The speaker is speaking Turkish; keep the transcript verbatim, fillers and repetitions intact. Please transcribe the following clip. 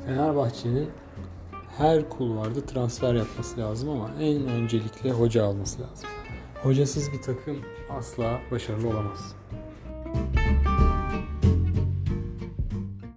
Fenerbahçe'nin her kulvarda transfer yapması lazım ama en öncelikle hoca alması lazım. Hocasız bir takım asla başarılı olamaz.